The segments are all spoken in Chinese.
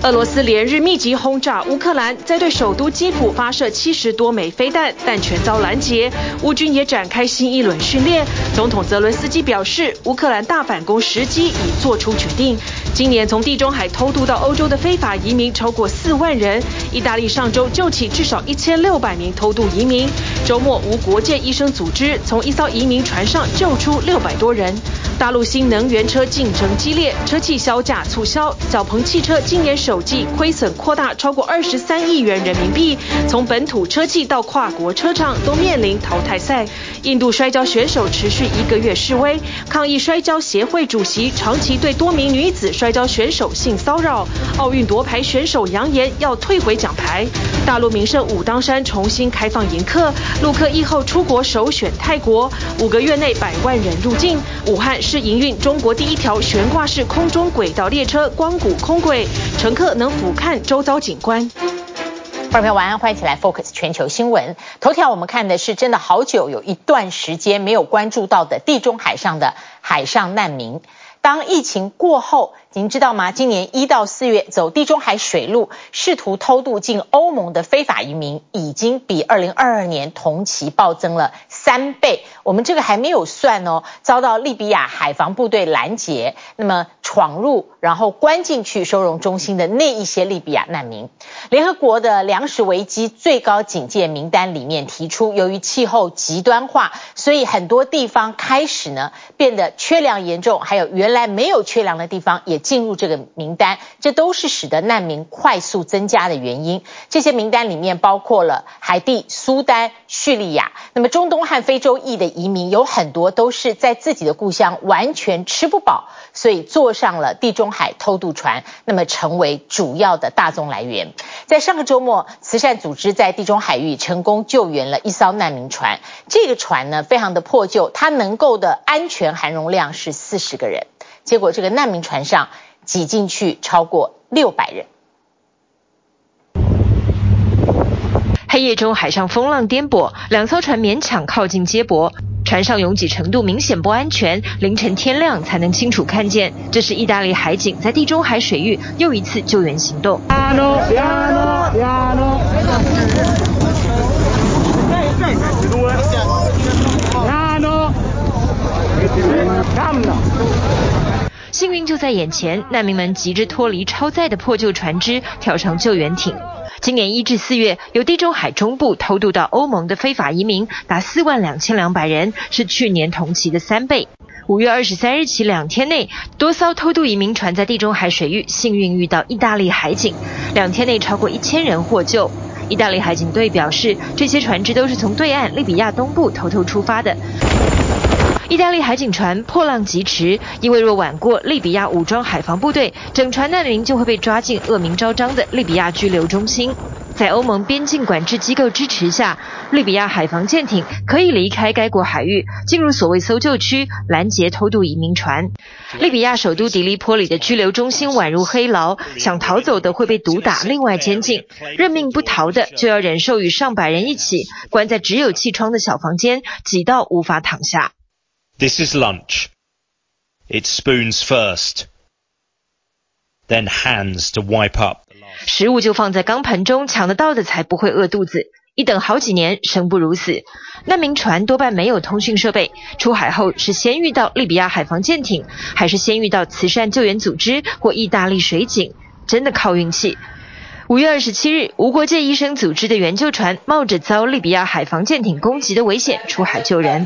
俄羅斯連日密集轟炸烏克蘭，在對首都基輔發射70多枚飛彈，但全遭攔截。烏軍也展開新一輪訓練。總統澤倫斯基表示，烏克蘭大反攻時機已做出決定。今年從地中海偷渡到歐洲的非法移民超過4萬人。意大利上周救起至少1600名偷渡移民。周末，無國界醫生組織從一艘移民船上救出600多人。大陸新能源車競爭激烈，車企銷價促銷，小鵬汽車今年首季虧損擴大超過23億元人民幣。從本土車企到跨國車廠都面臨淘汰賽。印度摔跤選手持續1個月示威，抗議摔跤協會主席長期對多名女子摔跤選手性騷擾。奧運奪牌選手揚言要退回獎牌。大陸名勝武當山重新開放迎客，陸客疫後出國首選泰國，5個月內100萬人入境。武漢是營運中國第一條懸掛式空中軌道列車光谷空軌，乘客能俯瞰周遭景觀。 觀眾朋友晚安，歡迎起來 Focus 全球新聞。頭條我們看的是真的好久有一段時間沒有關注到的地中海上的海上難民。當疫情過後，您知道嗎？今年1到4月走地中海水路試圖偷渡進歐盟的非法移民，已經比2022年同期暴增了3倍。我們這個還沒有算哦，遭到利比亞海防部隊攔截，那麼闖入然後關進去收容中心的那一些利比亞難民。聯合國的糧食危機最高警戒名單裡面提出，由於氣候極端化，所以很多地方開始呢變得缺糧嚴重，還有原來沒有缺糧的地方也進入這個名單，這都是使得難民快速增加的原因。這些名單裡面包括了海地、蘇丹、敘利亞，那麼中東和非洲裔的移民有很多都是在自己的故鄉完全吃不飽，所以坐上了地中海偷渡船，那麼成為主要的大宗来源。在上個周末，慈善組織在地中海域成功救援了一艘難民船，這個船呢非常的破舊，它能夠的安全含容量是40個人，結果這個難民船上擠進去超過600人。 黑夜中，海上風浪顛簸，2艘船勉強靠近接駁，船上擁擠程度明顯不安全，凌晨天亮才能清楚看見。這是意大利海警在地中海水域又一次救援行動。幸運就在眼前，難民們急着脫離超載的破舊船隻，跳上救援艇。今年1至4月，由地中海中部偷渡到歐盟的非法移民達42200人，是去年同期的3倍。5月23日起2天內，多艘偷渡移民船在地中海水域幸運遇到意大利海警，2天內超過1000人獲救。意大利海警隊表示，這些船隻都是從對岸利比亞東部偷出發的。意大利海警船破浪疾馳，因為若晚過利比亞武裝海防部隊，整船難民就會被抓進惡名昭彰的利比亞拘留中心。在歐盟邊境管制機構支持下，利比亞海防艦艇可以離開該國海域，進入所謂搜救區，攔截偷渡移民船。利比亞首都迪利波里的拘留中心宛如黑牢，想逃走的會被毒打另外監禁，認命不逃的就要忍受與上百人一起關在只有氣窗的小房間，擠到無法躺下。 This is lunch. It's spoons first, then hands to wipe up. 食物就放在鋼盆中，搶得到的才不會餓肚子。一等好幾年，生不如死。難民船多半沒有通訊設備，出海後是先遇到利比亞海防艦艇，還是先遇到慈善救援組織或意大利水警，真的靠運氣。5月27日，無國界醫生組織的援救船冒着遭利比亞海防艦艇攻擊的危險出海救人。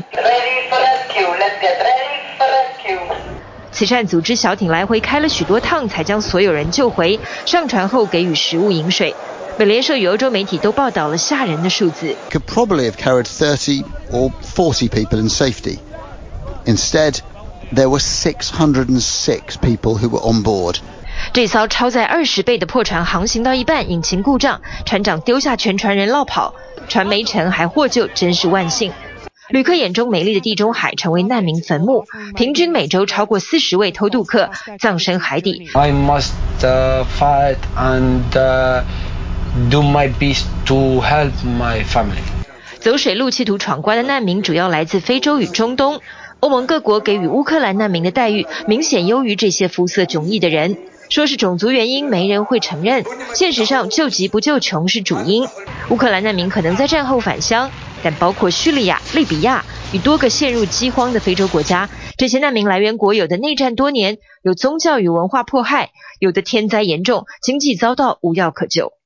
慈善組織小艇來回開了許多趟，才將所有人救回。上船後給予食物飲水。美聯社與歐洲媒體都報道了嚇人的數字。 Could probably have carried 30 or 40 people in safety. Instead, there were 606 people who were on board. 這艘超載20倍的破船航行到一半，引擎故障，船長丟下全船人落跑，船沒沉還獲救，真是萬幸。旅客眼中美麗的地中海成為難民墳墓，平均每周超過40位偷渡客葬身海底。 I must fight and do my best to help my family. 走水路企圖闖關的難民主要來自非洲與中東，歐盟各國給予烏克蘭難民的待遇明顯優於這些膚色迥異的人。 說是種族原因，沒人會承認。現實上，救急不救窮是主因。烏克蘭難民可能在戰後返鄉，但包括敘利亞、利比亞與多個陷入饑荒的非洲國家，這些難民來源國有的內戰多年，有宗教與文化迫害，有的天災嚴重，經濟遭到無藥可救。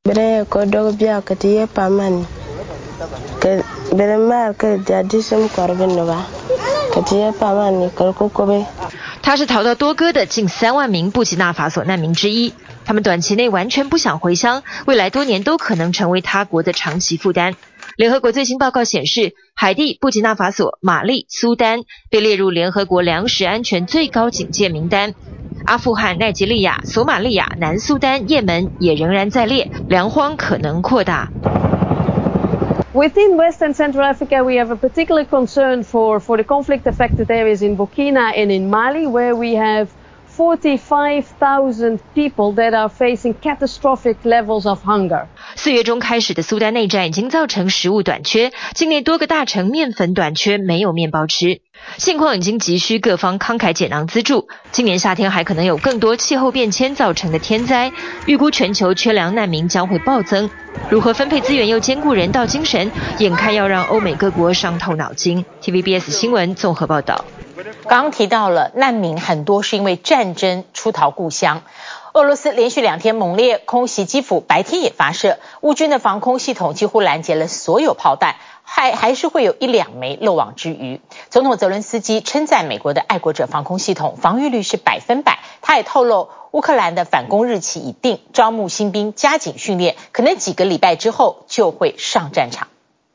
他是逃到多哥的近3萬名布吉納法索難民之一，他們短期內完全不想回鄉，未來多年都可能成為他國的長期負擔。聯合國最新報告顯示，海地、布吉納法索、馬利、蘇丹被列入聯合國糧食安全最高警戒名單。阿富汗、奈及利亞、索馬利亞、南蘇丹、也門也仍然在列，糧荒可能擴大。 Within West and Central Africa, we have a particular concern for the conflict-affected areas in Burkina and in Mali, where we have 45,000 people that are facing catastrophic levels of hunger. 4月中開始的蘇丹內戰已經造成食物短缺，境內多個大城麵粉短缺，沒有麵包吃。現況已經急需各方慷慨解囊資助，今年夏天還可能有更多氣候變遷造成的天災，預估全球缺糧難民將會暴增。如何分配資源又兼顧人道精神，眼看要讓歐美各國傷透腦筋。TVBS 新聞綜合報道。 剛提到了難民很多是因為戰爭出逃故鄉。俄羅斯連續2天猛烈空襲基輔，白天也發射，烏軍的防空系統幾乎攔截了所有炮彈，還是會有1-2枚漏網之魚。總統澤倫斯基稱讚美國的愛國者防空系統防禦率是100%，他也透露烏克蘭的反攻日期已定，招募新兵，加緊訓練，可能幾個禮拜之後就會上戰場。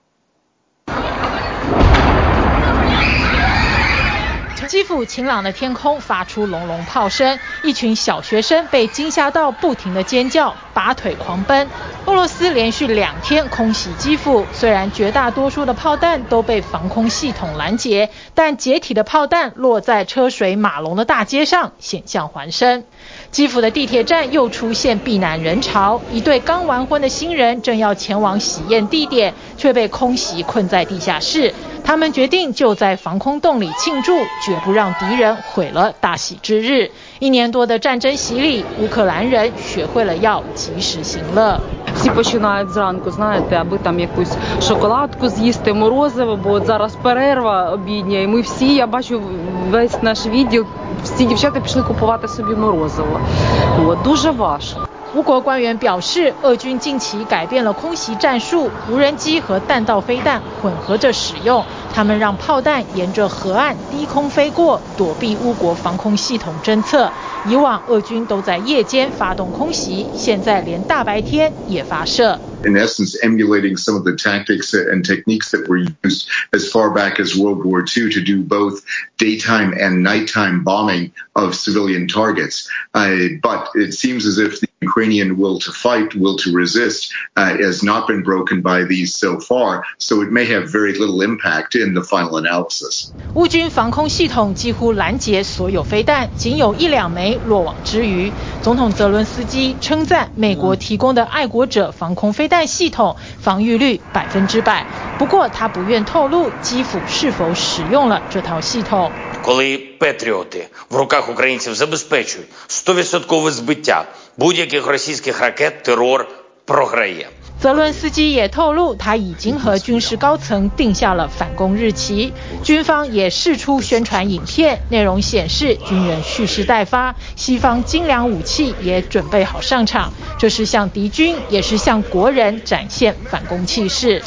基輔晴朗的天空發出隆隆炮聲，一群小學生被驚嚇到不停地尖叫，拔腿狂奔。俄羅斯連續2天空襲基輔，雖然絕大多數的炮彈都被防空系統攔截，但解體的炮彈落在車水馬龍的大街上，險象環生。基輔的地鐵站又出現避難人潮，一對剛完婚的新人正要前往喜宴地點，卻被空襲困在地下室。他們決定就在防空洞裡慶祝，絕不讓敵人毀了大喜之日。1年多的戰爭洗禮，烏克蘭人學會了要及時行樂。 Всі починають зранку, знаєте, аби там якусь шоколадку з'їсти, морозиво, бо от зараз перерва обідня, і ми всі, я бачу весь наш відділ, всі дівчата пішли купувати собі морозиво. От, дуже важко. 烏國官員表示，俄軍近期改變了空襲戰術，無人機和彈道飛彈混合着使用，他們讓炮彈沿着河岸低空飛過，躲避烏國防空系統偵測。以往俄軍都在夜間發動空襲，現在連大白天也發射。 In essence, emulating some of the tactics and techniques that were used as far back as World War II to do both daytime and nighttime bombing of civilian targets. But it seems as if the Ukrainian will to fight, will to resist, has not been broken by these so far, so it may have very little impact in the final analysis. 烏軍防空系統幾乎攔截所有飛彈，僅有1-2枚落網之魚。總統澤倫斯基稱讚美國提供的愛國者防空飛彈系統防禦率100%，不過他不願透露基輔是否使用了這套系統。 Коли патріоти в руках українців забезпечують 100% збиття будь-яких російських ракет, терор програє. 澤倫斯基也透露，他已經和軍事高層定下了反攻日期。軍方也釋出宣傳影片，內容顯示軍人蓄勢待發，西方精良武器也準備好上場，這是向敵軍，也是向國人展現反攻氣勢。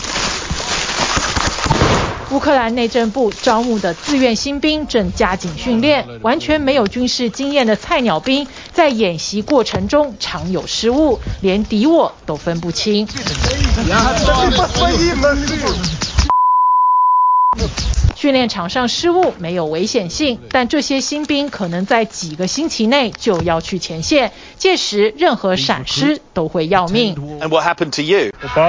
烏克蘭內政部招募的自願新兵正加緊訓練，完全沒有軍事經驗的菜鳥兵在演習過程中常有失誤，連敵我都分不清。訓練場上失誤沒有危險性，但這些新兵可能在幾個星期內就要去前線，屆時任何閃失都會要命。 And what happened to you?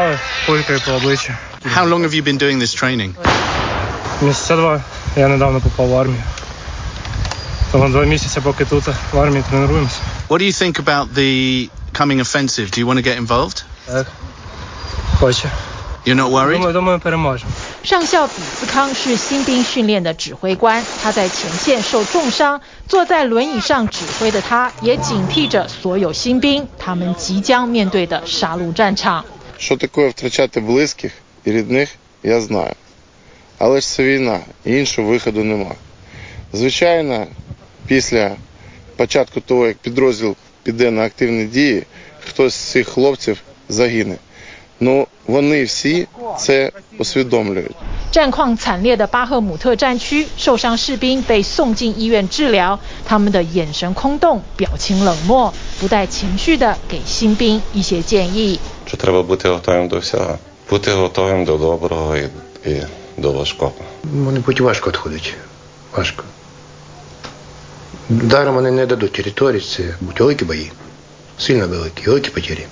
How long have you been doing this training? Месяца 2. Я недавно попал в армию. Тому 2 месяца поки тут в армии тренируемся. What do you think about the coming offensive? Do you want to get involved? Так. Хочу. You're not worried? Думаю, переможемо. 上校比斯康是新兵訓練的指揮官，他在前線受重傷，坐在輪椅上指揮的他，也警惕着所有新兵，他們即將面對的殺戮戰場。 Що таке втрачати близьких і рідних, я знаю. Але ж це війна, і іншого виходу нема. Звичайно, після початку того, як підрозділ піде на активні дії, хтось з цих хлопців загине. Но вони всі це усвідомлюють. 戰況慘烈的巴赫姆特戰區，受傷士兵被送進醫院治療，他們的眼神空洞，表情冷漠，不帶情緒的給新兵一些建議。 Що треба бути готовим до всього. Бути готовим до доброго і до важкого. Вони будуть важко відходять. Важко. Даром вони не дадуть території, це будуть великі бої. Сильно великі потери.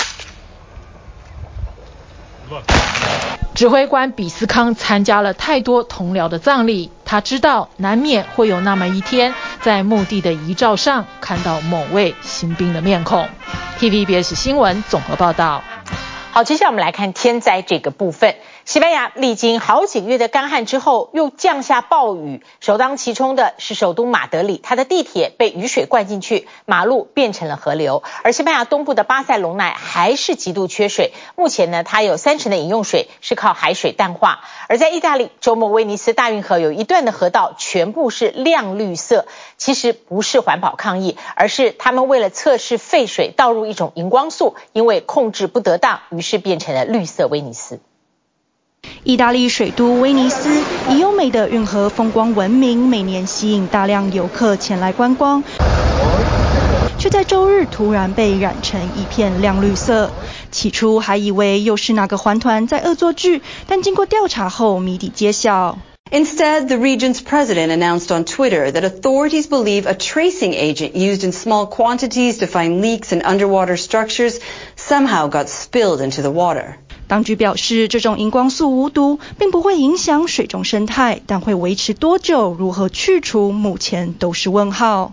指揮官比斯康參加了太多同僚的葬禮，他知道難免會有那麼一天，在墓地的遺照上看到某位新兵的面孔。TVBS 新聞綜合報道。 好，接下來我們來看天災這個部分。西班牙歷經好幾個月的乾旱之後，又降下暴雨，首當其衝的是首都馬德里，它的地鐵被雨水灌進去，馬路變成了河流。而西班牙東部的巴塞隆納還是極度缺水，目前呢，它有30%的飲用水是靠海水淡化。而在意大利，周末威尼斯大運河有一段的河道全部是亮綠色，其實不是環保抗議，而是他們為了測試廢水倒入一種熒光素，因為控制不得當，於是變成了綠色威尼斯。 意大利水都威尼斯以優美的運河風光聞名，每年吸引大量遊客前來觀光，卻在週日突然被染成一片亮綠色。起初還以為又是哪個環團在惡作劇，但經過調查後謎底揭曉。 Instead, the region's president announced on Twitter that authorities believe a tracing agent used in small quantities to find leaks in underwater structures somehow got spilled into the water. 當局表示，這種熒光素無毒，並不會影響水中生態，但會維持多久、如何去除，目前都是問號。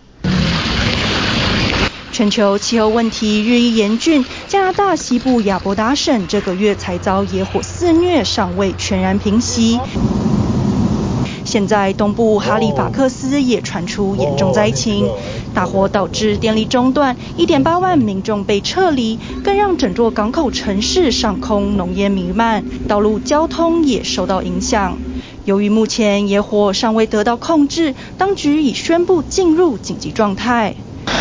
全球氣候問題日益嚴峻，加拿大西部亞伯達省這個月才遭野火肆虐，尚未全然平息。現在東部哈利法克斯也傳出嚴重災情，大火導致電力中斷，1.8萬民眾被撤離，更讓整座港口城市上空濃煙彌漫，道路交通也受到影響。由於目前野火尚未得到控制，當局已宣布進入緊急狀態。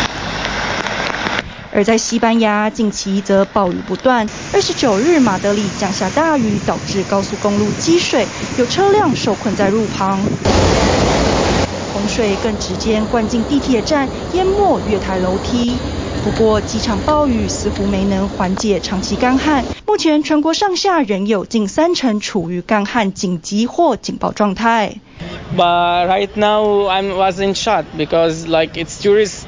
而在西班牙，近期則暴雨不斷。29日，馬德里降下大雨，導致高速公路積水，有車輛受困在路旁。洪水更直接灌進地鐵站，淹沒月台樓梯。不過，幾場暴雨似乎沒能緩解長期乾旱。目前，全國上下仍有近30%處於乾旱緊急或警報狀態。 But right now I was in shock because like it's tourist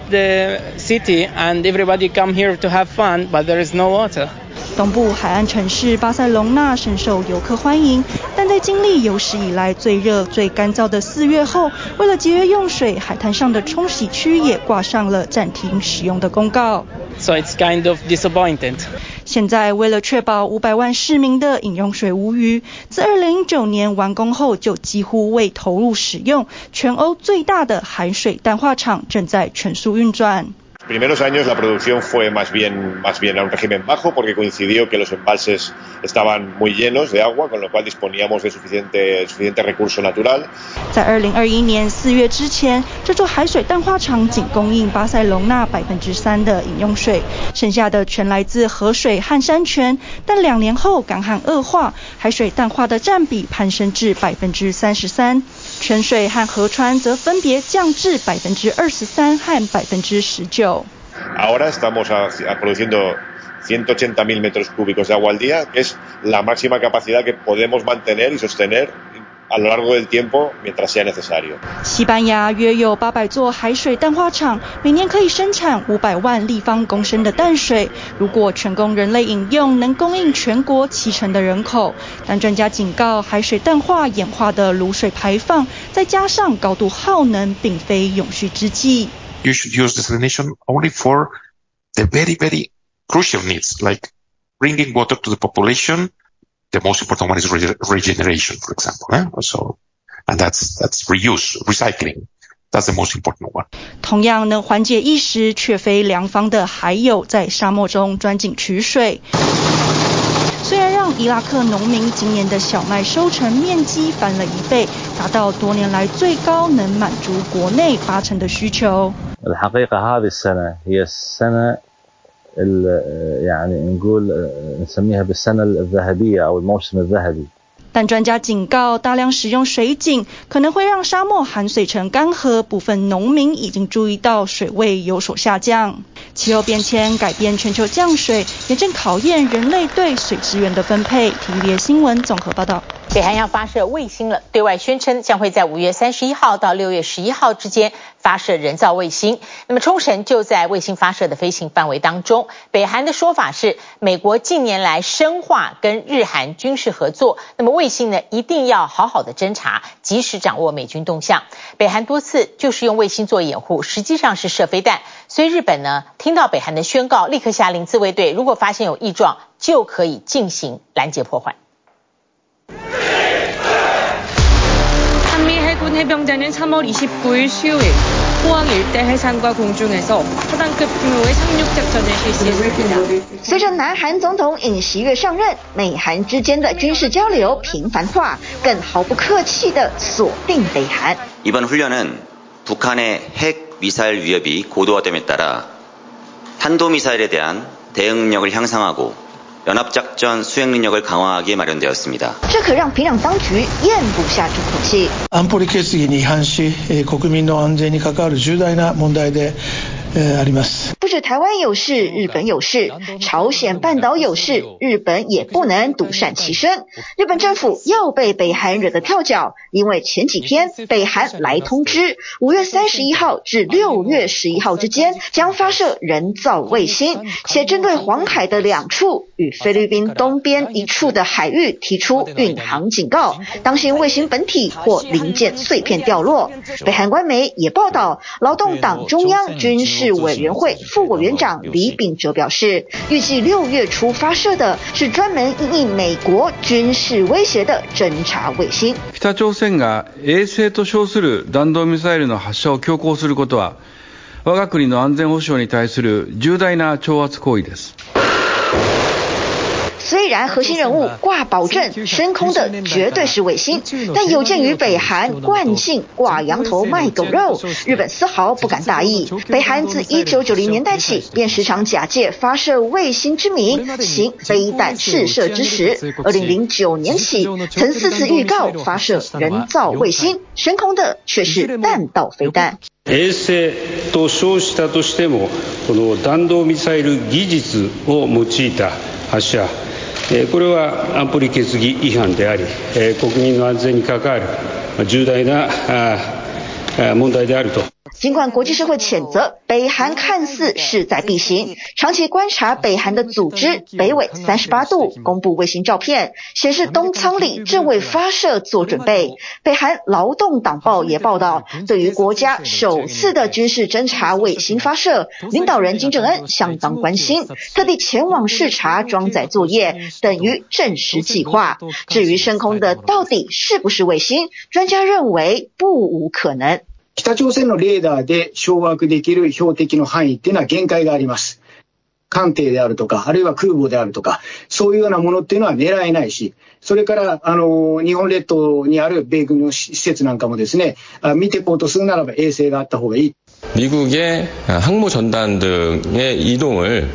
city and everybody come here to have fun, but there is no water. 東部海岸城市巴塞隆納深受遊客歡迎，但在經歷有史以來最熱最乾燥的4月後，為了節約用水，海灘上的沖洗區也掛上了暫停使用的公告。 So it's kind of disappointing. 現在為了確保500萬市民的飲用水無虞，自2009年完工後就幾乎未投入使用，全歐最大的海水淡化廠正在全速運轉。 Primeros años la producción fue más bien a un régimen bajo porque coincidió que los embalses estaban muy llenos de agua, con lo cual disponíamos de suficiente recurso natural. 在2021年4月之前，這座海水淡化廠僅供應巴塞隆納3%的飲用水，剩下的全來自河水和山泉。但2年後乾旱惡化，海水淡化的佔比攀升至33%，泉水和河川則分別降至23%和19%。 Ahora estamos produciendo 180.000 metros cúbicos de agua al día, que es la máxima capacidad que podemos mantener y sostener a lo largo del tiempo mientras sea necesario. 西班牙約有800座海水淡化廠，每年可以生產500萬立方公升的淡水，如果全供人類飲用，能供應全國70%的人口。但專家警告，海水淡化演化的滷水排放，再加上高度耗能，並非永續之計。 You should use desalination only for the very, very crucial needs, like bringing water to the population The most important one is regeneration, for example. So, and that's reuse, recycling. That's the most important one. 同樣能緩解一時卻非良方的，還有在沙漠中鑽井取水。雖然讓伊拉克農民今年的小麥收成面積翻了1倍，達到多年來最高，能滿足國內80%的需求。 الحقيقة هذه السنة هي السنة يعني نقول نسميها بالسنة الذهبية أو الموسم الذهبي。 但專家警告，大量使用水井可能會讓沙漠含水層乾涸，部分農民已經注意到水位有所下降。氣候變遷改變全球降水，也正考驗人類對水資源的分配。TVBS 新聞綜合報道。 北韓要發射衛星了，對外宣稱將會在5月31號到6月11號之間發射人造衛星。那麼沖繩就在衛星發射的飛行範圍當中。北韓的說法是，美國近年來深化跟日韓軍事合作，那麼衛星呢一定要好好的偵察，及時掌握美軍動向。北韓多次就是用衛星做掩護，實際上是射飛彈。所以日本呢聽到北韓的宣告，立刻下令自衛隊如果發現有異狀，就可以進行攔截破壞。 한미 해군 해병대는 3월 29일 수요일 포항 일대 해상과 공중에서 포단급 규모의 상륙 작전을 실시했습니다. 隨着南韓總統尹錫悅上任，美韓之間的軍事交流頻繁化，更毫不客氣地鎖定北韓。 이번 훈련은 북한의 핵 미사일 위협이 고도화됨에 따라 탄도미사일에 대한 대응 능력을 향상하고 연합작전 수행 능력을 강화하기에 마련되었습니다. 這可讓平壤當局嚥不下這口氣。 安保理決議に違反し、国民の安全に関わる重大な問題であります。 不止台灣有事，日本有事，朝鮮半島有事，日本也不能獨善其身。日本政府又被北韓惹得跳腳，因為前幾天北韓來通知，5月31號至6月11號之間將發射人造衛星，且針對黃海的2處與菲律賓東邊1處的海域提出運航警告，當心衛星本體或零件碎片掉落。北韓官媒也報道，勞動黨中央軍事委員會副委員長李秉哲表示，預計6月初發射的是專門因應美國軍事威脅的偵察衛星。 北朝鮮が衛星と稱する弾道ミサイルの発射を強行することは、我が国の安全保障に対する重大な挑発行為です。 雖然核心人物掛保證升空的絕對是衛星，但有鑑於北韓慣性掛羊頭賣狗肉，日本絲毫不敢大意。北韓自1990年代起便時常假借發射衛星之名行飛彈試射之實，2009年起曾4次預告發射人造衛星，升空的卻是彈道飛彈。 衛星と稱したとしても、この弾道ミサイル技術を用いた発射。 これは安保理決議違反であり、国民の安全に関わる重大な問題であると。 儘管國際社會譴責北韓看似勢在必行，長期觀察北韓的組織北緯38度公布衛星照片，顯示東倉裡正為發射做準備。北韓勞動黨報也報道，對於國家首次的軍事偵察衛星發射，領導人金正恩相當關心，特地前往視察裝載作業，等於證實計劃。至於升空的到底是不是衛星，專家認為不無可能。 北朝鮮のレーダーで掌握できる標的の範囲っていうのは限界があります。艦艇であるとか、あるいは空母であるとか、そういうようなものっていうのは狙えないし、それから日本列島にある米軍の施設なんかもですね、見ていこうとするならば衛星があった方がいい。 미국의 항모 전단 등의 이동을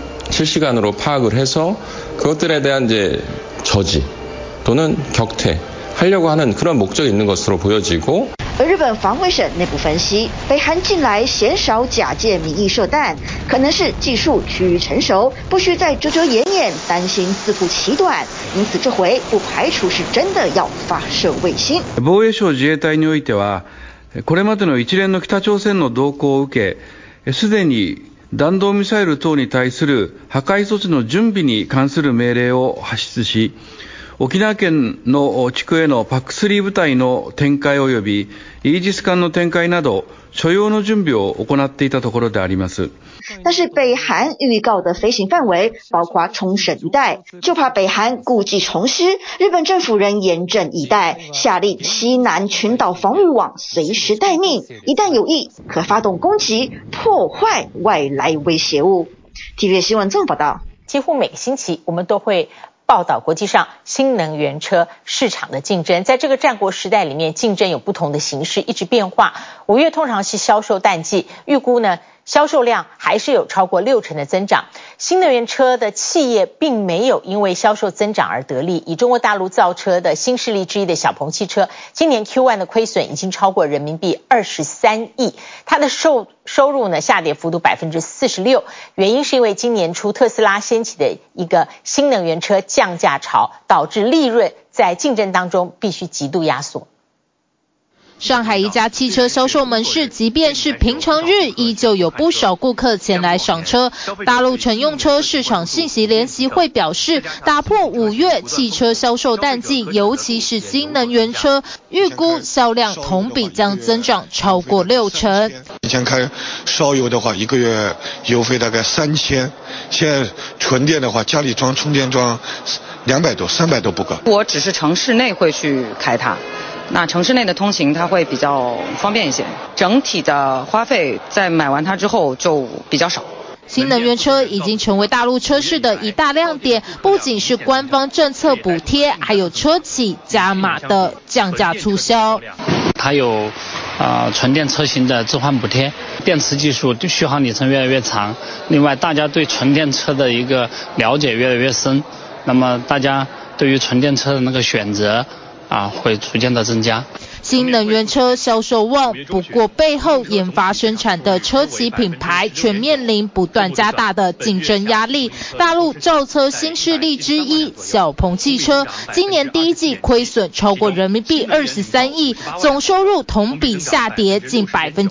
실시간으로 파악을 해서 그것들에 대한 이제 저지 또는 격퇴하려고 하는 그런 목적이 있는 것으로 보여지고. 而日本防衛省內部分析，北韓近來鮮少假借民意射彈，可能是技術趨於成熟，不需再遮遮掩掩，擔心自負其短，因此這回不排除是真的要發射衛星。 防衛省自衛隊においては、これまでの一連の北朝鮮の動向を受け、すでに弾道ミサイル等に対する破壊措置の準備に関する命令を発出し、 沖縄県の地区への PAC3 部隊の展開及びイージス艦の展開など所要の準備を行っていたところであります。 但是北韓預告的飛行範圍包括沖繩一帶，就怕北韓故技重施，日本政府仍嚴陣以待，下令西南群島防務網隨時待命，一旦有意可發動攻擊，破壞外來威脅物。TVBS 新聞綜合報道。 幾乎每個星期我們都會報道國際上新能源車市場的競爭，在這個戰國時代裡面，競爭有不同的形式，一直變化。5月通常是銷售淡季，預估呢銷售量還是有超過60%的增長。新能源車的企業並沒有因為銷售增長而得利。以中國大陸造車的新勢力之一的小鵬汽車，今年 Q1 的虧損已經超過人民幣23億，它的收入呢下跌幅度 46%， 原因是因為今年初特斯拉掀起的一個新能源車降價潮，導致利潤在競爭當中必須極度壓縮。 上海一家汽車銷售門市，即便是平常日，依舊有不少顧客前來賞車。大陸乘用車市場信息聯席會表示，打破5月汽車銷售淡季，尤其是新能源車，預估銷量同比將增長超過60%。 以前開燒油的話，一個月油費大概3000，現在純電的話，家裡裝充電樁200多、300都不夠。 我只是城市內會去開它。那城市內的通行它會比較方便一些，整體的花費在買完它之後就比較少。 新能源車已經成為大陸車市的一大亮點，不僅是官方政策補貼，還有車企加碼的降價促銷。 它有純電車型的置換補貼，電池技術續航里程越來越長。另外，大家對純電車的一個了解越來越深，那麼大家對於純電車的那個選擇會逐漸的增加。 新能源車銷售旺，不過背後研發生產的車企品牌卻面臨不斷加大的競爭壓力。大陸造車新勢力之一小鵬汽車，今年第一季虧損超過人民幣23億，總收入同比下跌近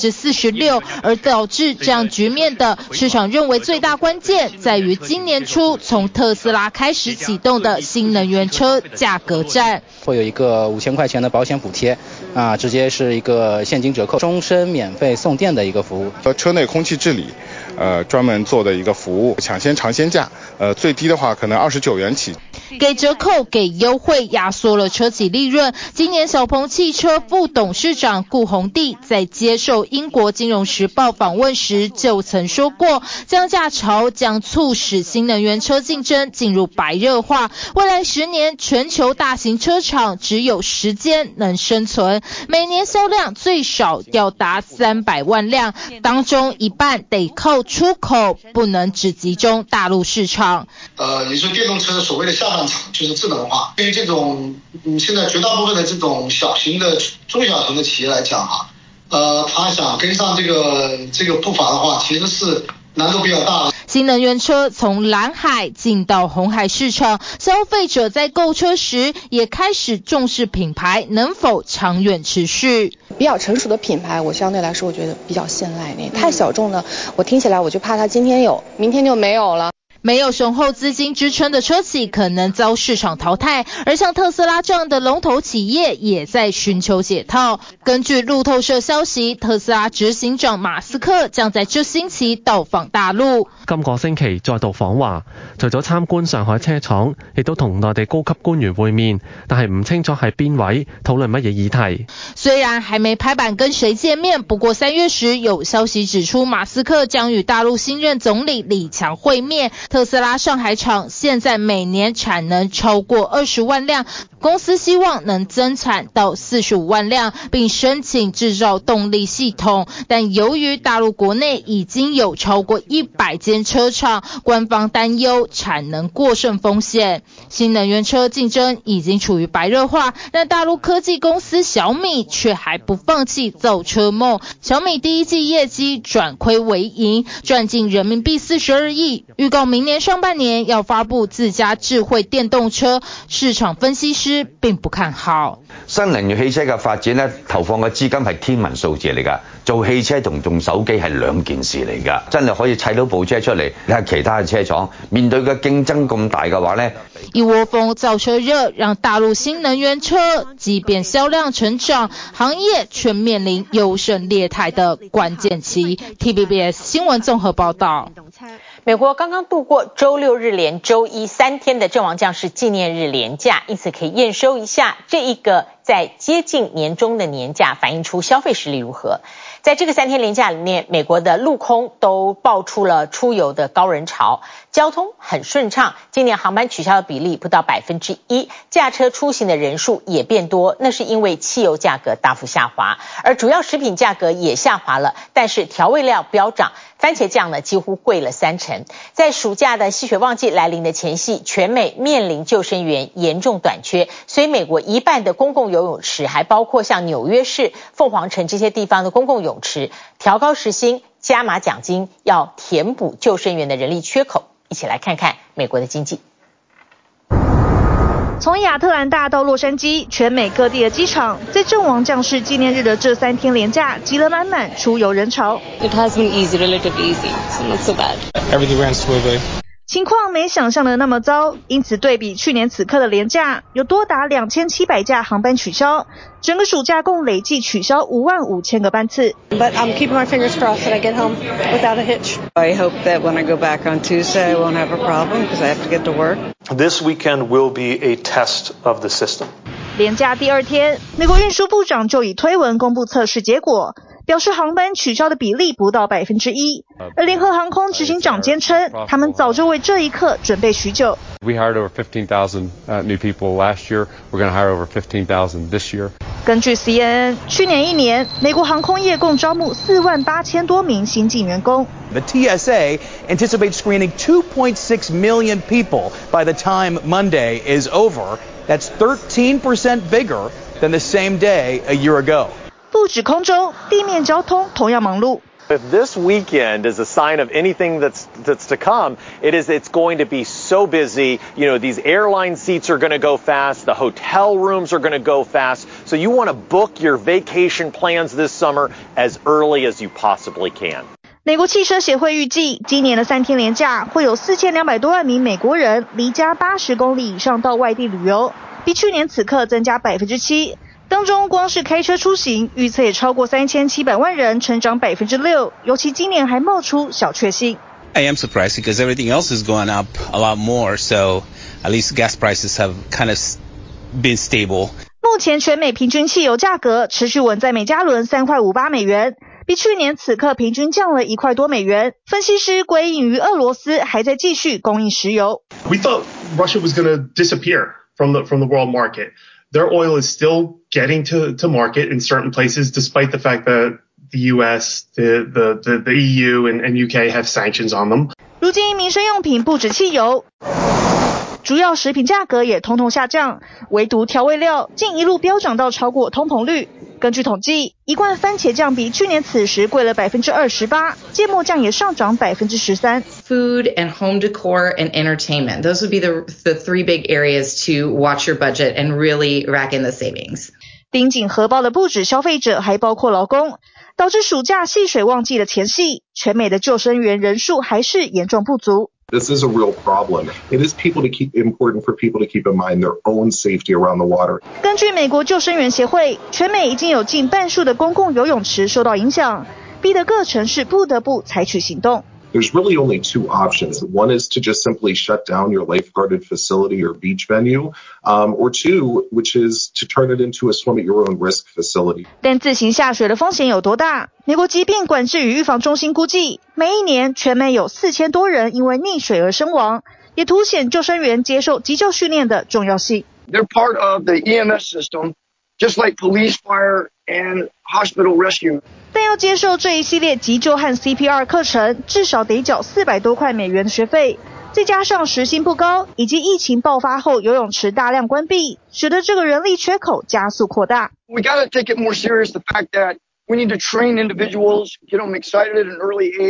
46%。而導致這樣局面的市場認為最大關鍵在於今年初從特斯拉開始啟動的新能源車價格戰， 會有一個5000塊錢的保險補貼。直接是一個現金折扣，終身免費送電的一個服務。 車內空氣治理，專門做的一個服務，搶先嘗鮮價，最低的話可能29元起。 給折扣、給優惠，壓縮了車企利潤。今年小鵬汽車副董事長顧宏棣在接受英國金融時報訪問時就曾說過，降價潮將促使新能源車競爭進入白熱化。未來10年，全球大型車廠只有10間能生存，每年銷量最少要達300萬輛，當中一半得靠出口，不能只集中大陸市場。 也就是電動車所謂的下半場就是智能化。對於這種現在絕大部分的這種小型的、中小型的企業來講哈，他想跟上這個步伐的話，其實是難度比較大的。 新能源車從藍海進到紅海市場，消費者在購車時也開始重視品牌能否長遠持續。 比較成熟的品牌，我相對來說我覺得比較信賴那太小眾的，我聽起來我就怕它今天有，明天就沒有了。 沒有雄厚資金支撐的車企可能遭市場淘汰，而像特斯拉這樣的龍頭企業也在尋求解套。根據路透社消息，特斯拉執行長馬斯克將在這星期到訪大陸。 今個星期再度訪華，除咗參觀上海車廠，亦都同內地高級官員會面，但係唔清楚係邊位，討論乜嘢議題。 雖然還沒拍板跟誰見面，不過3月時有消息指出，馬斯克將與大陸新任總理李強會面。特斯拉上海廠現在每年產能超過20萬輛，公司希望能增產到45萬輛，並申請製造動力系統。但由於大陸國內已經有超過100間車廠，官方擔憂產能過剩風險。新能源車競爭已經處於白熱化，但大陸科技公司小米卻還不放棄造車夢。小米第一季業績轉虧為盈，賺進人民幣42億，預告明明年上半年要發布自家智慧電動車，市場分析師並不看好。 新能源汽車嘅發展咧，投放嘅資金係天文數字嚟㗎，做汽車同用手機係兩件事嚟㗎，真係可以砌到部車出嚟。你睇其他嘅車廠面對嘅競爭咁大嘅話咧， 一窩蜂造車熱，讓大陸新能源車即便銷量成長，行業卻面臨優勝劣汰的關鍵期。TVBS 新聞綜合報道。 美國剛剛度過周六日連周一3天的陣亡將士紀念日連假，因此可以驗收一下這一個在接近年終的年假，反映出消費實力如何。在這個3天連假裡面，美國的陸空都爆出了出遊的高人潮，交通很順暢，今年航班取消的比例不到1%，駕車出行的人數也變多，那是因為汽油價格大幅下滑，而主要食品價格也下滑了，但是調味料飆漲，番茄醬呢幾乎貴了30%。在暑假的吸血旺季來臨的前夕，全美面臨救生員嚴重短缺，所以美國一半的公共游泳池，還包括像紐約市、鳳凰城這些地方的公共泳池，調高時薪、加碼獎金，要填補救生員的人力缺口。一起來看看美國的經濟。 從亞特蘭大到洛杉磯，全美各地的機場在陣亡將士紀念日的這3天連假擠了滿滿出遊人潮。 It has been easy, relatively easy, so not so bad. Everything ran smoothly. 情況沒想象的那麼糟，因此對比去年此刻的連假，有多達2700架航班取消，整個暑假共累計取消55000個班次。 But I'm keeping my fingers crossed that I get home without a hitch. I hope that when I go back on Tuesday, I won't have a problem because I have to get to work. This weekend will be a test of the system. 連假第2天，美國運輸部長就以推文公布測試結果，表示航班取消的比例不到1%，而聯合航空執行長堅稱，他們早就為這一刻準備許久。 We hired over 15,000 new people last year. We're going to hire over 15,000 this year. 根據 CNN， 去年1年，美國航空業共招募48000多名新進員工。 The TSA anticipates screening 2.6 million people by the time Monday is over. That's 13% bigger than the same day a year ago. 不止空中，地面交通同樣忙碌。 If this weekend is a sign of anything that's to come, it's going to be so busy. You know, these airline seats are going to go fast. The hotel rooms are going to go fast. So you want to book your vacation plans this summer as early as you possibly can. 美國汽車協會預計，今年的3天連假會有4200多萬名美國人離家80公里以上到外地旅遊，比去年此刻增加7%。當中光是開車出行，預測也超過3700萬人，成長6%。尤其今年還冒出小確幸。 I am surprised because everything else is going up a lot more, so at least gas prices have kind of been stable. 目前全美平均汽油價格持續穩在每加侖3.58美元，比去年此刻平均降了1塊多美元。分析師歸因於俄羅斯還在繼續供應石油。 We thought Russia was going to disappear from the world market. Their oil is still getting to market in certain places, despite the fact that the U.S., the EU, and UK have sanctions on them. 如今民生用品不止汽油，主要食品價格也統統下降，唯獨調味料竟一路飆漲到超過通膨率。根據統計，一罐番茄醬比去年此時貴了28%，芥末醬也上漲13%。 Food and home decor and entertainment. Those would be the three big areas to watch your budget and really rack in the savings. 盯緊荷包的不止消費者，還包括勞工，導致暑假戲水旺季的前夕，全美的救生員人數還是嚴重不足。 This is a real problem. It is important for people to keep in mind their own safety around the water. 根據美國救生員協會，全美已經有近半數的公共游泳池受到影響，逼得各城市不得不採取行動。 There's really only two options. One is to just simply shut down your lifeguarded facility or beach venue, or two, which is to turn it into a swim at your own risk facility. 但自行下水的風險有多大？美國疾病管制與預防中心估計，每一年全美有4000多人因為溺水而身亡，也凸顯救生員接受急救訓練的重要性。 They're part of the EMS system, just like police, fire, and hospital rescue. 但要接受這一系列急救和 CPR 課程，至少得繳400多塊美元的學費，再加上時薪不高，以及疫情爆發後游泳池大量關閉，使得這個人力缺口加速擴大。 We gotta take it more serious, the fact that we need to train individuals, get them excited at an early age.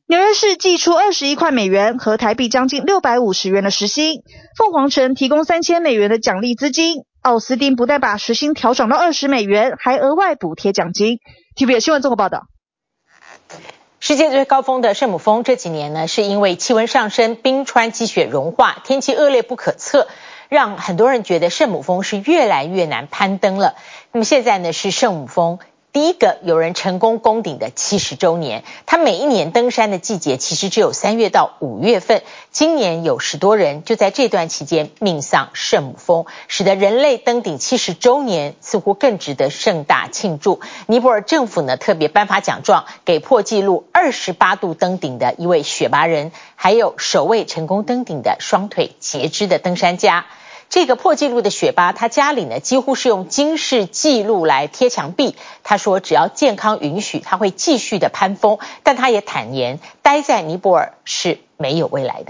紐約市祭出21塊美元和台幣將近650元的時薪，鳳凰城提供3000美元的獎勵資金，奧斯汀不但把時薪調漲到20美元，還額外補貼獎金。TVBS 新聞綜合報道。 世界最高峰的聖母峰這幾年呢，是因為氣溫上升、冰川積雪融化、天氣惡劣不可測，讓很多人覺得聖母峰是越來越難攀登了。那麼現在呢，是聖母峰第一個有人成功攻頂的70週年，他每一年登山的季節其實只有3月到5月份，今年有10多人就在這段期間命喪聖母峰，使得人類登頂70週年似乎更值得盛大慶祝。尼泊爾政府呢特別頒發獎狀給破紀錄28度登頂的一位雪巴人，還有首位成功登頂的雙腿截肢的登山家。這個破紀錄的雪巴，他家裡呢幾乎是用金氏紀錄來貼牆壁。他說只要健康允許，他會繼續的攀峰，但他也坦言，待在尼泊爾是沒有未來的。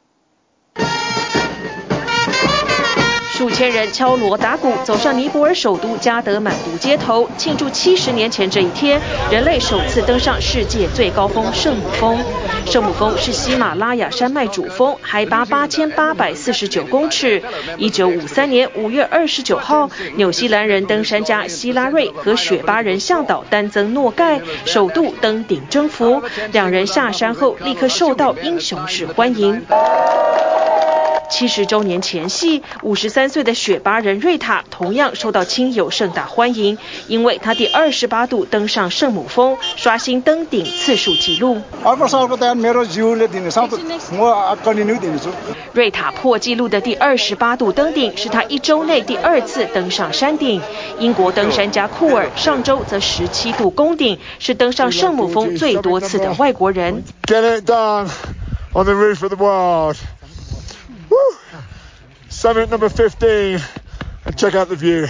數千人敲鑼打鼓走上尼泊爾首都加德滿都街頭，慶祝70年前這一天，人類首次登上世界最高峰聖母峰。聖母峰是喜馬拉雅山脈主峰，海拔8849公尺。1953年5月29號，紐西蘭人登山家希拉瑞和雪巴人向導丹增諾蓋首度登頂征服，兩人下山後立刻受到英雄式歡迎。70週年前夕，53歲的雪巴人瑞塔同樣受到親友盛大歡迎，因為他第28度登上聖母峰，刷新登頂次數紀錄。瑞塔破紀錄的第28度登頂是他1週內第2次登上山頂。英國登山家庫爾上週則17度攻頂，是登上聖母峰最多次的外國人。 Get it done on the roof of the world. Summit number 15 and check out the view.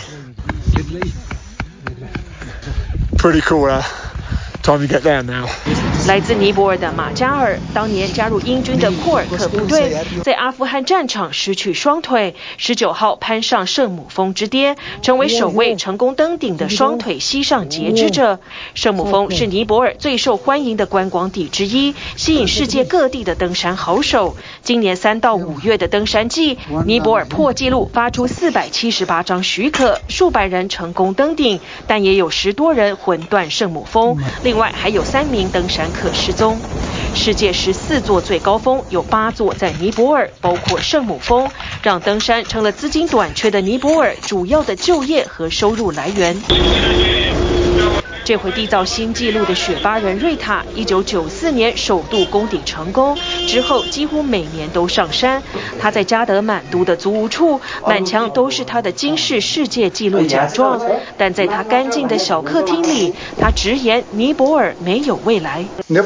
Pretty cool, huh? Time to get down now. 來自尼泊爾的馬加爾，當年加入英軍的庫爾克部隊，在阿富汗戰場失去雙腿，19號攀上聖母峰之巔，成為首位成功登頂的雙腿膝上截肢者。聖母峰是尼泊爾最受歡迎的觀光地之一，吸引世界各地的登山好手。今年3到5月的登山季，尼泊爾破紀錄發出478張許可，數百人成功登頂，但也有10多人魂斷聖母峰，另外還有3名登山客失蹤。世界14座最高峰有8座在尼泊爾，包括聖母峰，讓登山成了資金短缺的尼泊爾主要的就業和收入來源。這回締造新紀錄的雪巴人瑞塔，1994年首度攻頂成功，之後幾乎每年都上山。他在加德滿都的租屋處，滿牆都是他的金氏世界紀錄獎狀，但在他乾淨的小客廳裡，他直言尼泊爾沒有未來。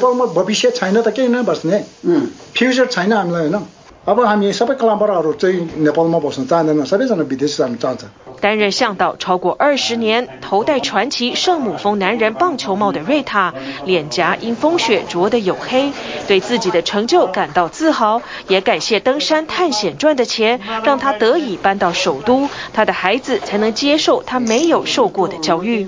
擔任向導超過20年，頭戴傳奇聖母峰男人棒球帽的瑞塔，臉頰因風雪著得黝黑，對自己的成就感到自豪，也感謝登山探險賺的錢，讓他得以搬到首都，他的孩子才能接受他沒有受過的教育。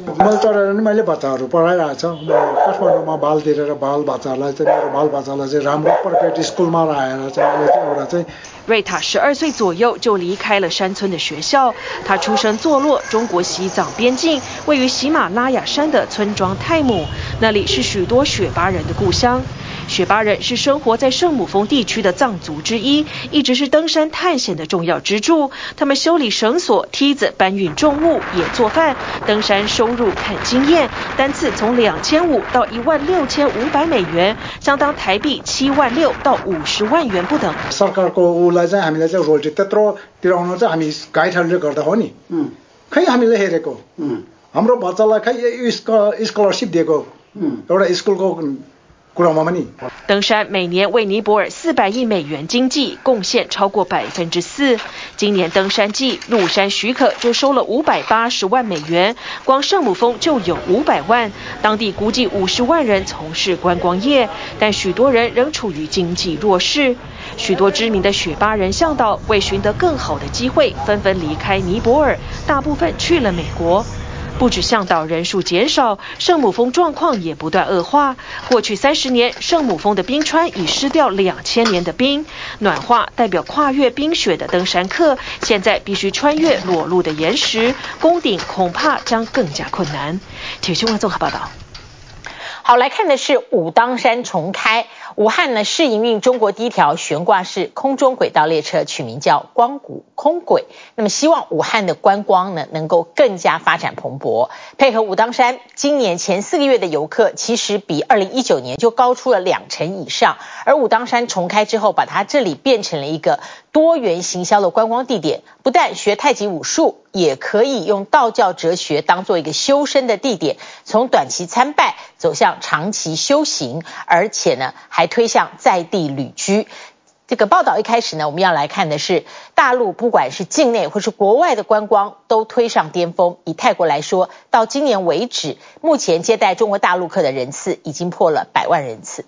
瑞塔12歲左右就離開了山村的學校，他出生坐落中國西藏邊境，位於喜馬拉雅山的村莊泰姆，那裡是許多雪巴人的故鄉。雪巴人是生活在聖母峰地區的藏族之一，一直是登山探險的重要支柱。他們修理繩索、梯子，搬運重物，也做飯。登山收入看經驗，單次從2500到16500美元，相當台幣76000到50萬元不等。登山每年為尼泊爾400億美元經濟貢獻超過4%。今年登山季入山許可就收了580萬美元，光聖母峰就有500萬。當地估計50萬人從事觀光業，但許多人仍處於經濟弱勢。許多知名的雪巴人向導為尋得更好的機會，紛紛離開尼泊爾，大部分去了美國。 不止向導人數減少，聖母峰狀況也不斷惡化。過去30年，聖母峰的冰川已失掉2000年的冰，暖化代表跨越冰雪的登山客，現在必須穿越裸露的岩石，攻頂恐怕將更加困難。體育新聞綜合報道。 好，來看的是武當山重開。武漢呢試營運中國第一條懸掛式空中軌道列車，取名叫光谷空軌。那麼希望武漢的觀光呢能夠更加發展蓬勃。配合武當山，今年前4個月的遊客其實比2019年就高出了2成以上。而武當山重開之後，把它這裡變成了一個多元行銷的觀光地點，不但學太極武術，也可以用道教哲學當做一個修身的地點，從短期參拜走向長期修行，而且呢還推向在地旅居。這個報道一開始呢，我們要來看的是大陸不管是境內或是國外的觀光都推上巔峰。以泰國來說，到今年為止，目前接待中國大陸客的人次已經破了100萬人次。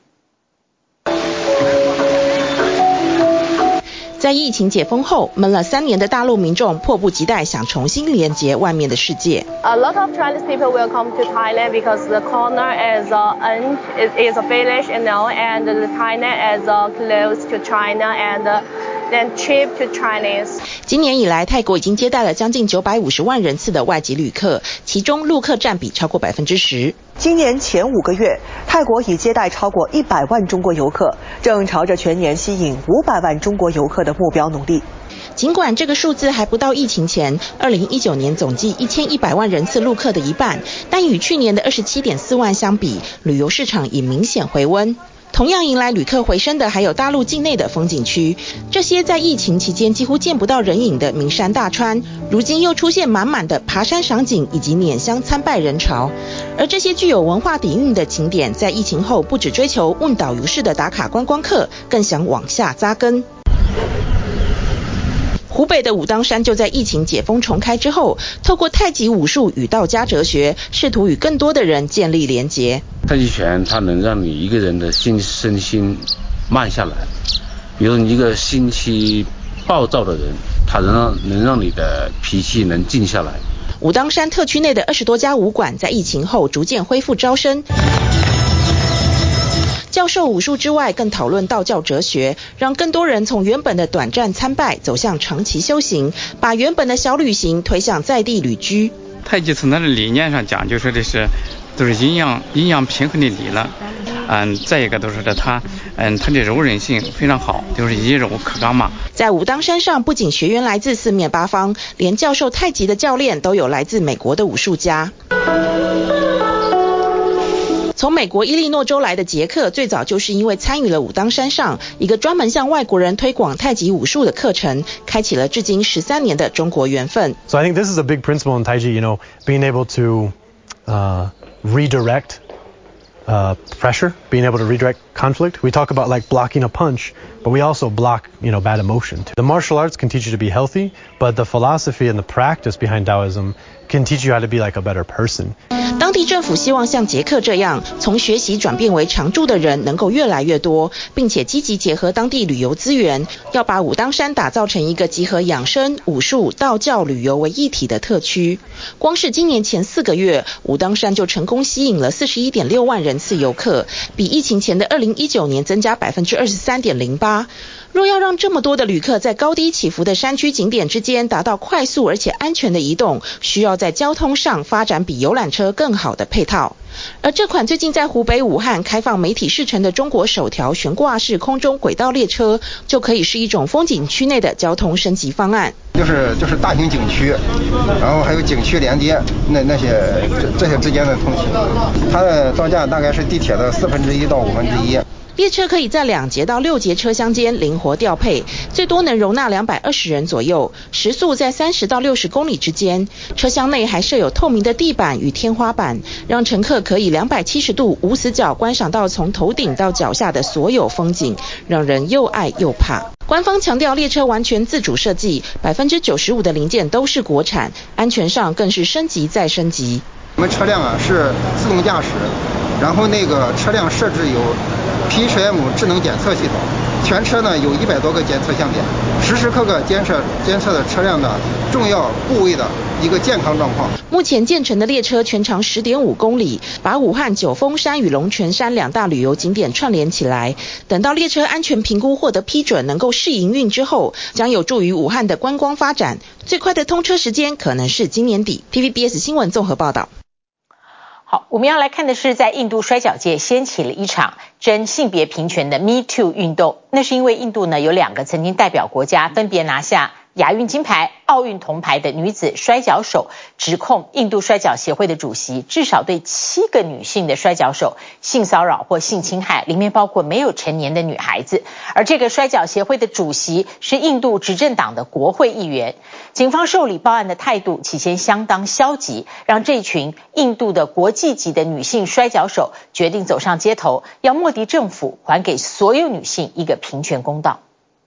在疫情解封後，悶了3年的大陸民眾迫不及待想重新連接外面的世界。 A lot of Chinese people will come to Thailand because the corner is a village, and the Thailand is close to China and then cheap to Chinese. 今年以来，泰國已經接待了將近950萬人次的外籍旅客，其中陸客佔比超過10%。 今年前5個月，泰國已接待超過100萬中國遊客，正朝着全年吸引500萬中國遊客的目標努力。 儘管這個數字還不到疫情前2019年總計1100萬人次陸客的一半，但與去年的27.4萬相比，旅遊市場已明顯回溫。同樣迎來旅客回升的還有大陸境內的風景區，這些在疫情期間幾乎見不到人影的名山大川，如今又出現滿滿的爬山賞景以及拈香參拜人潮。而這些具有文化底蘊的景點，在疫情後不只追求問導遊式的打卡觀光客，更想往下扎根。湖北的武當山就在疫情解封重開之後，透過太極武術與道家哲學，試圖與更多的人建立連結。 太極拳它能讓你一個人的身心慢下來，比如你一個心氣暴躁的人，它能讓你的脾氣能靜下來。 武當山特區內的20多家武館在疫情後逐漸恢復招生。教授武術之外，更討論道教哲學，讓更多人從原本的短暫參拜走向長期修行，把原本的小旅行推向在地旅居。 太極從它的理念上講，就說的是都是陰陽平衡的理了。再一個都是它的柔韌性非常好，就是以柔克剛嘛。 在武當山上，不僅學員來自四面八方，連教授太極的教練都有來自美國的武術家。從美國伊利諾州來的傑克，最早就是因為參與了武當山上一個專門向外國人推廣太極武術的課程，開啟了至今13年的中國緣分。 So I think this is a big principle in Tai Chi, being able to redirect pressure, being able to redirect conflict. We talk about like blocking a punch, but we also block, bad emotion. The martial arts can teach you to be healthy, but the philosophy and the practice behind Taoism can teach you how to be like a better person. 當地政府希望像傑克這樣從學習轉變為常住的人能夠越來越多，並且積極結合當地旅遊資源，要把武當山打造成一個集合養生、武術、道教、旅遊為一體的特區。光是今年前4個月，武當山就成功吸引了41.6萬人次遊客，比疫情前的2019年增加23.08%。若要讓這麼多的旅客在高低起伏的山區景點之間達到快速而且安全的移動，需要在交通上發展比遊覽車更好的配套。而這款最近在湖北武漢開放媒體試乘的中國首條懸掛式空中軌道列車，就可以是一種風景區內的交通升級方案。 就是大型景區，然後還有景區連接這些之間的通勤，它的造價大概是地鐵的1/4到1/5。 列車可以在2節到6節車廂間靈活調配，最多能容納220人左右，時速在30到60公里之間。車廂內還設有透明的地板與天花板，讓乘客可以270度無死角觀賞到從頭頂到腳下的所有風景，讓人又愛又怕。官方強調列車完全自主設計，95%的零件都是國產，安全上更是升級再升級。 我們車輛是自動駕駛，然後那個車輛設置有 PHM 智能檢測系統， 全車呢有100多個監測項點，時時刻刻監測的車輛的重要部位的一個健康狀況。 目前建成的列車全長10.5公里，把武漢九峰山與龍泉山2大旅遊景點串聯起來。等到列車安全評估獲得批准，能夠試營運之後，將有助於武漢的觀光發展。最快的通車時間可能是今年底。TVBS 新聞綜合報道。 好，我們要來看的是在印度摔角界掀起了一場爭性別平權的 Me Too 運動。那是因為印度呢有2個曾經代表國家分別拿下亞運金牌、奧運銅牌的女子摔角手，指控印度摔角協會的主席至少對7個女性的摔角手性騷擾或性侵害，裡面包括沒有成年的女孩子。而這個摔角協會的主席是印度執政黨的國會議員。警方受理報案的態度起先相當消極，讓這群印度的國際級的女性摔角手決定走上街頭，要莫迪政府還給所有女性一個平權公道。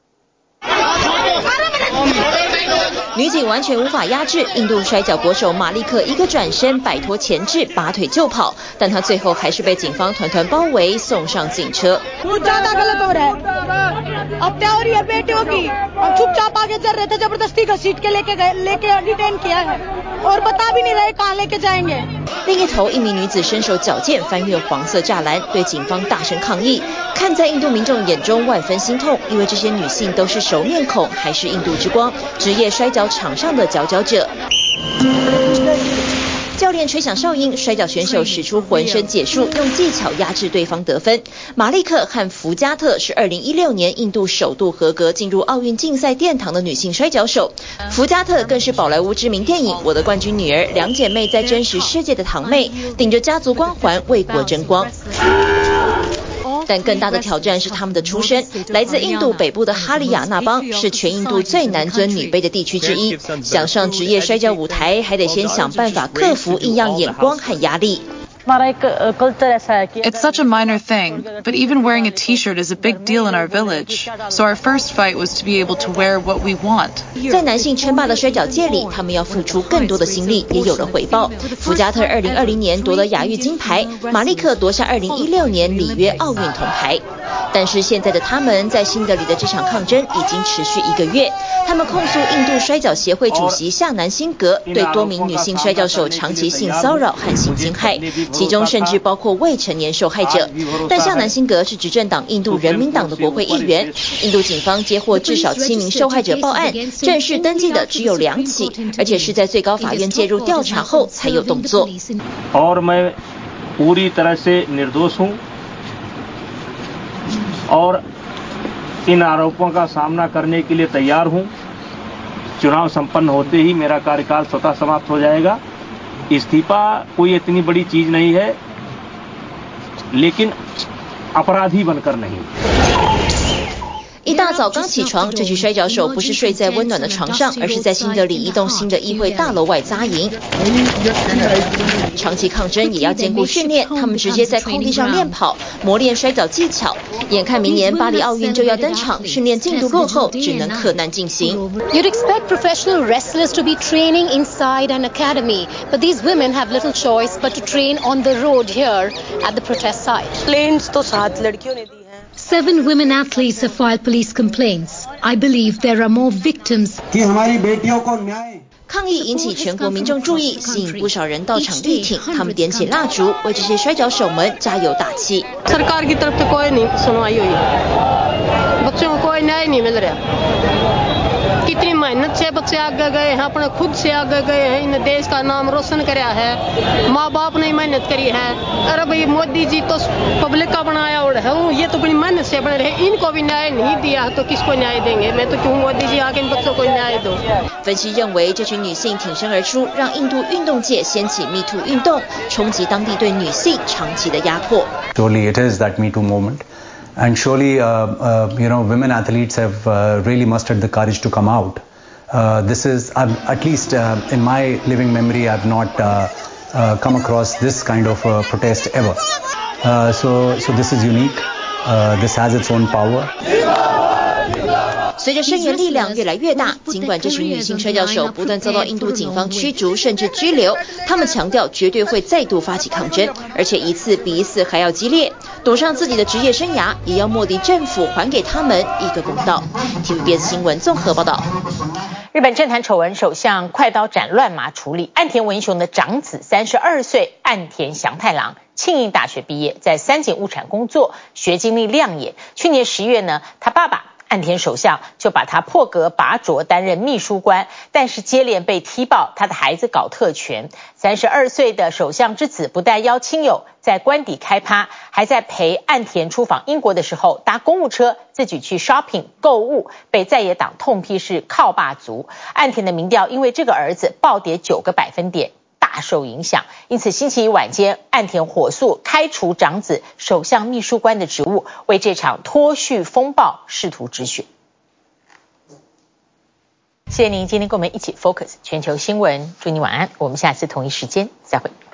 女警完全無法壓制印度摔角國手馬利克，一個轉身擺脫鉗制，拔腿就跑，但他最後還是被警方團團包圍，送上警車。另一頭，一名女子身手矯健，翻越黃色柵欄，對警方大聲抗議。看在印度民眾眼中萬分心痛，因為這些女性都是熟面孔，還是印度之光，職業摔角場上的佼佼者。教練吹響哨音，摔角選手使出渾身解數，用技巧壓制對方得分。馬利克和福加特是2016年印度首度合格進入奧運競賽殿堂的女性摔角手，福加特更是寶萊塢知名電影《我的冠軍女兒》兩姐妹在真實世界的堂妹，頂着家族光環為國爭光。但更大的挑戰是他們的出身，來自印度北部的哈里亞納邦是全印度最男尊女卑的地區之一，想上職業摔角舞台，還得先想辦法克服異樣眼光和壓力。 It's such a minor thing, but even wearing a t-shirt is a big deal in our village. So our first fight was to be able to wear what we want. 在男性稱霸的摔角界裡，他們要付出更多的心力，也有了回報。福加特2020年奪得亞運金牌，馬利克奪下2016年里約奧運銅牌。但是現在的他們在新德里的這場抗爭已經持續1個月。他們控訴印度摔角協會主席夏南辛格對多名女性摔角手長期性騷擾和性侵害，其中甚至包括未成年受害者。但夏南辛格是執政黨印度人民黨的國會議員。印度警方接獲至少7名受害者報案，正式登記的只有2起，而且是在最高法院介入調查後才有動作。 और इन आरोपों का सामना करने के लिए तैयार हूं। चुनाव संपन्न होते ही मेरा कार्यकाल स्वतः समाप्त हो जाएगा। इस्तीफा कोई इतनी बड़ी चीज नहीं है, लेकिन अपराधी बनकर नहीं। 一大早剛起床，這群摔角手不是睡在溫暖的床上，而是在新德里一棟新的議會大樓外紮營。長期抗爭也要兼顧訓練，他們直接在空地上練跑，磨練摔角技巧。眼看明年巴黎奧運就要登場，訓練進度落後，只能克難進行。 You'd expect professional wrestlers to be training inside an academy, but these women have little choice but to train on the road here at the protest site. Planes तो 7 लड़कियों ने दी हैं। 7 women athletes have filed police complaints. I believe there are more victims. कि हमारी बेटियों को न्याय 抗議引起全國民眾注意，吸引不少人到場力挺，他們點起蠟燭，為這些摔角手們加油打氣。 सरकार की तरफ से कोई नहीं सुनवाई हुई है, बच्चों को कोई न्याय नहीं मिल रहा। कितनी मेहनत से बच्चे आगे गए हैं, अपने खुद से आगे गए हैं, इन देश का नाम रोशन कराया है, माँ बाप ने मेहनत करी है। अरे भाई मोदी जी तो पब्लिक का बनाया और है, ये तो अपनी मेहनत से बने रहे, इनको भी न्याय नहीं दिया तो किसको न्याय देंगे? मैं तो कहूँ मोदी जी आके इन बच्चों को न्याय दो। 分析認為，這群女性挺身而出，讓印度運動界掀起 Me Too 運動，衝擊當地對女性長期的壓迫。 Surely it is that Me Too moment, and surely women athletes have really mustered the courage to come out. This is at least in my living memory, I've not come across this kind of protest ever. So this is unique. This has its own power. 隨着聲援力量越來越大，儘管這群女性摔跤手不斷遭到印度警方驅逐甚至拘留，他們強調絕對會再度發起抗爭，而且一次比一次還要激烈，賭上自己的職業生涯，也要莫迪政府還給他們一個公道。TVBS 新聞綜合報道。 日本政壇醜聞，首相快刀斬亂麻處理。岸田文雄的長子32歲岸田祥太郎，慶應大學畢業，在三井物產工作，學經歷亮眼。去年10月呢，他爸爸岸田首相就把他破格拔擢擔任秘書官，但是接連被踢爆他的孩子搞特權。32歲的首相之子不但邀親友在官邸開趴，還在陪岸田出訪英國的時候搭公務車自己去 shopping 購物，被在野黨痛批是靠爸族。岸田的民調因為這個兒子暴跌9個百分點，大受影響，因此星期一晚間，岸田火速開除長子首相秘書官的職務，為這場脫序風暴試圖止血。謝謝您今天跟我們一起 focus 全球新聞，祝你晚安，我們下次同一時間再會。